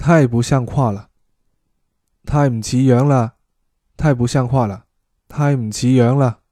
太不像话了，太唔似樣啦，太不像話啦，太唔似樣啦。